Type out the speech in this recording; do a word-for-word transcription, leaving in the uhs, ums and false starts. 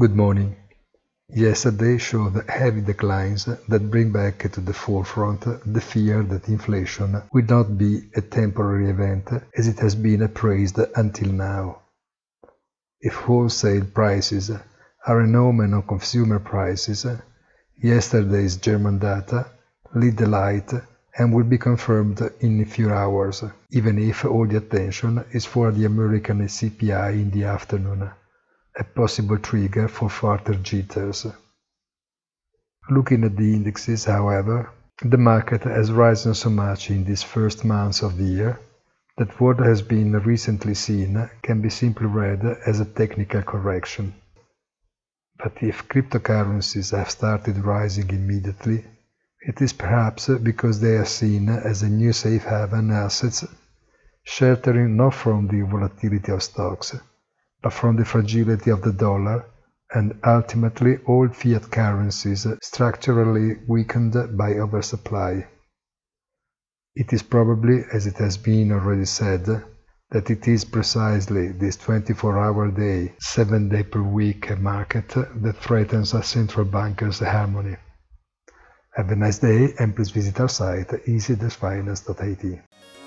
Good morning. Yesterday showed heavy declines that bring back to the forefront the fear that inflation will not be a temporary event as it has been appraised until now. If wholesale prices are an omen of consumer prices, yesterday's German data lead the light and will be confirmed in a few hours, even if all the attention is for the American C P I in the afternoon, a possible trigger for further jitters. Looking at the indexes, however, the market has risen so much in these first months of the year that what has been recently seen can be simply read as a technical correction. But if cryptocurrencies have started rising immediately, it is perhaps because they are seen as a new safe haven assets, sheltering not from the volatility of stocks, but from the fragility of the dollar and ultimately all fiat currencies structurally weakened by oversupply. It is probably, as it has been already said, that it is precisely this twenty-four hour day, seven day per week market that threatens a central banker's harmony. Have a nice day and please visit our site easy dash finance dot I T.